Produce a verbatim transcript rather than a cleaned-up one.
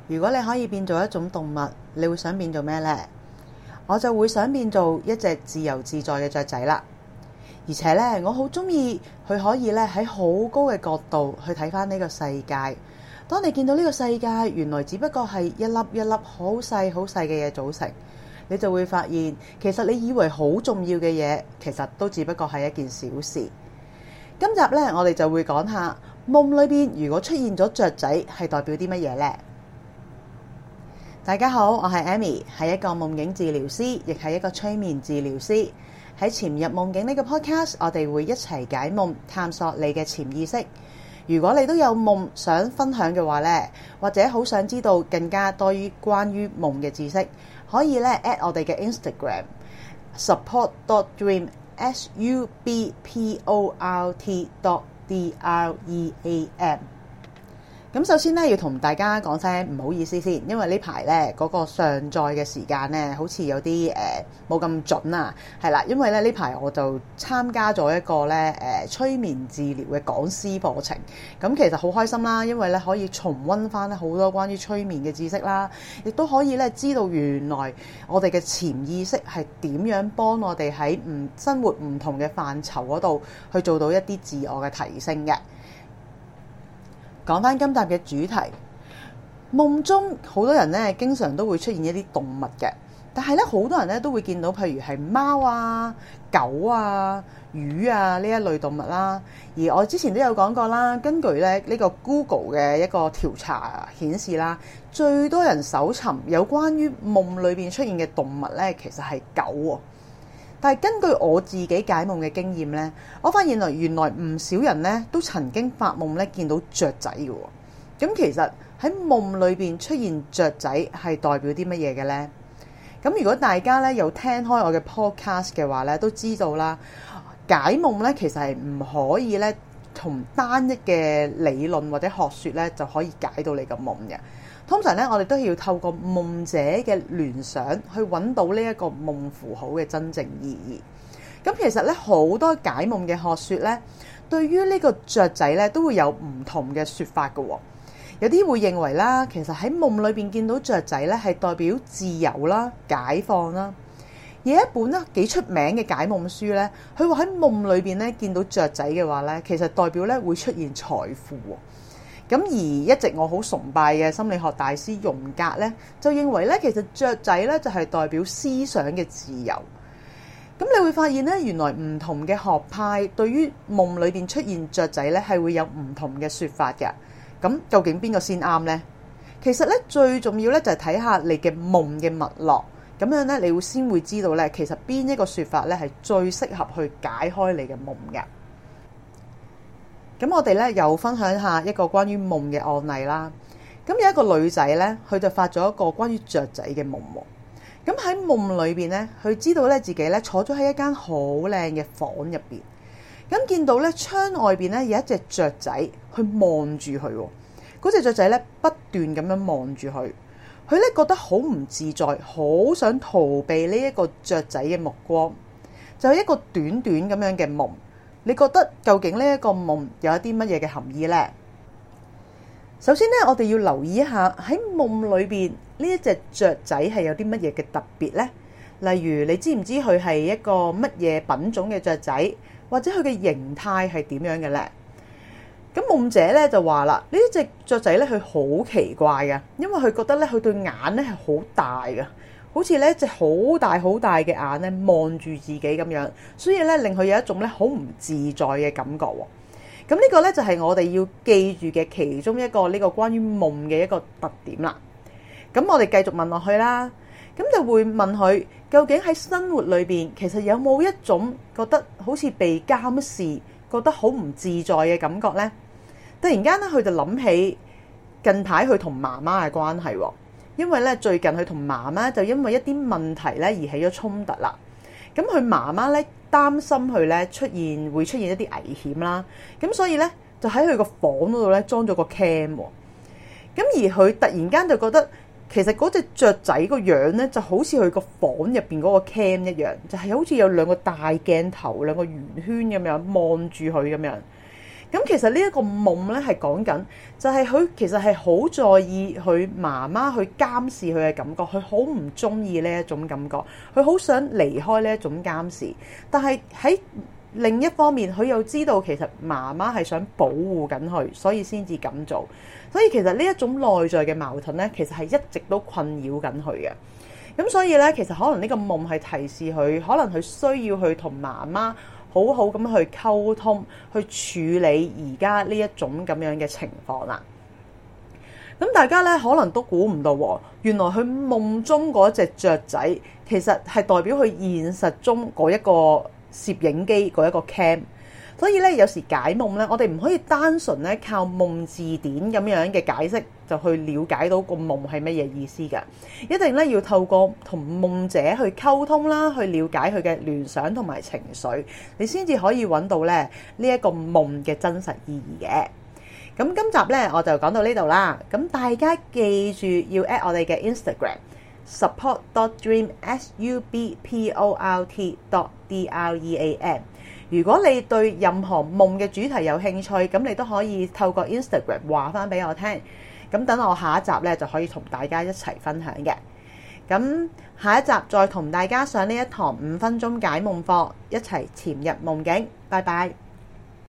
如果你可以變做一種動物，你會想變做咩呢？我就會想變做一隻自由自在嘅雀仔啦。而且呢，我好中意佢可以咧喺好高嘅角度去睇返呢個世界。當你見到呢個世界原來只不過係一粒一粒好細好細嘅嘢組成，你就會發現其實你以為好重要嘅嘢，其實都只不過係一件小事。今集呢，我哋就會講下夢裏邊如果出現咗雀仔，係代表啲乜嘢呢？大家好，我係 Amy， 係一個夢境治療師，亦係一個催眠治療師。喺潛入夢境呢個 podcast， 我哋會一齊解夢，探索你嘅潛意識。如果你都有夢想分享嘅話呢，或者好想知道更加多於關於夢嘅知識，可以咧 at 我哋嘅 Instagram support dot dream s u b p o r t dot d r e a m。咁首先咧，要同大家講聲唔好意思先，因為呢排咧嗰個上載嘅時間咧，好似有啲誒冇咁準啊，係啦，因為咧呢排我就參加咗一個咧誒、呃、催眠治療嘅講師課程，咁其實好開心啦，因為咧可以重溫翻好多關於催眠嘅知識啦，亦都可以咧知道原來我哋嘅潛意識係點樣幫我哋喺唔生活唔同嘅範疇嗰度去做到一啲自我嘅提升嘅。講翻今集嘅主題，夢中好多人咧，經常都會出現一啲動物嘅，但係咧好多人咧都會見到，譬如係貓啊、狗啊、魚啊呢一類動物啦。而我之前都有講過啦，根據咧呢個 Google 嘅一個調查顯示啦，最多人搜尋有關於夢裏邊出現嘅動物咧，其實係狗喎。但係根據我自己解夢嘅經驗咧，我發現來原來唔少人咧都曾經發夢咧見到雀仔嘅喎。咁其實喺夢裏邊出現雀仔係代表啲乜嘢嘅咧？咁如果大家咧有聽開我嘅 podcast 嘅話咧，都知道啦，解夢咧其實係唔可以咧同單一嘅理論或者學説咧就可以解到你個夢嘅。通常咧，我哋都要透過夢者嘅聯想去揾到呢一個夢符號嘅真正意義。咁其實咧，好多解夢嘅學説咧，對於呢個雀仔咧都會有唔同嘅説法嘅喎。有啲會認為啦，其實喺夢裏邊見到雀仔咧係代表自由啦、解放啦。而一本咧幾出名嘅解夢書咧，佢話喺夢裏邊咧見到雀仔嘅話咧，其實代表咧會出現財富喎。咁而一直我好崇拜嘅心理學大師榮格咧，就認為咧，其實雀仔咧就係代表思想嘅自由。咁你會發現咧，原來唔同嘅學派對於夢裏邊出現雀仔咧，係會有唔同嘅説法嘅。咁究竟邊個先啱呢？其實咧最重要咧就係睇下你嘅夢嘅脈絡，咁樣咧你會先會知道咧，其實邊一個説法咧係最適合去解開你嘅夢嘅。咁我哋咧又分享一下一個關於夢嘅案例啦。咁有一個女仔咧，佢就發咗一個關於雀仔嘅夢喎。咁喺夢裏邊咧，佢知道咧自己咧坐咗喺一間好靚嘅房入邊。咁見到咧窗外邊咧有一隻雀仔去望住佢喎。嗰隻雀仔咧不斷咁樣望住佢，佢咧覺得好唔自在，好想逃避呢一個雀仔嘅目光。就係一個短短咁樣嘅夢。你覺得究竟呢一個夢有一啲乜嘢嘅含義呢？首先咧，我哋要留意一下喺夢裏邊呢一隻雀仔係有啲乜嘢嘅特別呢？例如你知唔知佢係一個乜嘢品種嘅雀仔，或者佢嘅形態係點樣嘅呢？咁夢者咧就話啦，呢一隻雀仔咧佢好奇怪嘅，因為佢覺得咧佢對眼咧係好大嘅。好似咧一隻好大好大嘅眼咧望住自己咁樣，所以咧令佢有一種咧好唔自在嘅感覺喎。咁呢個咧就係我哋要記住嘅其中一個呢個關於夢嘅一個特點啦。咁我哋繼續問落去啦，咁就會問佢究竟喺生活裏邊其實有冇一種覺得好似被監視、覺得好唔自在嘅感覺呢？突然間咧，佢就諗起近排佢同媽媽嘅關係喎。因為咧最近佢同媽媽就因為一啲問題咧而起咗衝突啦，咁佢媽媽咧擔心佢咧出現會出現一啲危險啦，咁所以咧就喺佢個房嗰度咧裝咗個 cam 喎，咁而佢突然間就覺得其實嗰隻雀仔個樣咧就好似佢個房入邊嗰個 cam 一樣，就係好似有兩個大鏡頭、兩個圓圈咁樣望住佢咁樣。咁咁其實呢一個夢咧係講緊，就係佢其實係好在意佢媽媽去監視佢嘅感覺，佢好唔中意呢一種感覺，佢好想離開呢一種監視。但係喺另一方面，佢又知道其實媽媽係想保護緊佢，所以先至咁做。所以其實呢一種內在嘅矛盾咧，其實係一直都困擾緊佢嘅。咁所以咧，其實可能呢個夢係提示佢，可能佢需要去同媽媽好好咁去溝通，去處理而家呢一種咁樣嘅情況啦。咁大家咧可能都估唔到，原來佢夢中嗰隻雀仔，其實係代表佢現實中嗰一個攝影機嗰一個 cam。所以咧，有時解夢咧，我哋唔可以單純咧靠夢字典咁樣嘅解釋就去了解到個夢係乜嘢意思㗎。一定咧要透過同夢者去溝通啦，去了解佢嘅聯想同埋情緒，你先至可以揾到咧呢一個夢嘅真實意義嘅。咁今集咧我就講到呢度啦。咁大家記住要 at 我哋嘅 Instagram support dot dream s u b p o r t dot d r e a m。如果你對任何夢嘅主題有興趣，咁你都可以透過 Instagram 話翻俾我聽。咁等我下一集咧就可以同大家一齊分享嘅。咁下一集再同大家上呢一堂五分鐘解夢課，一齊潛入夢境。拜拜。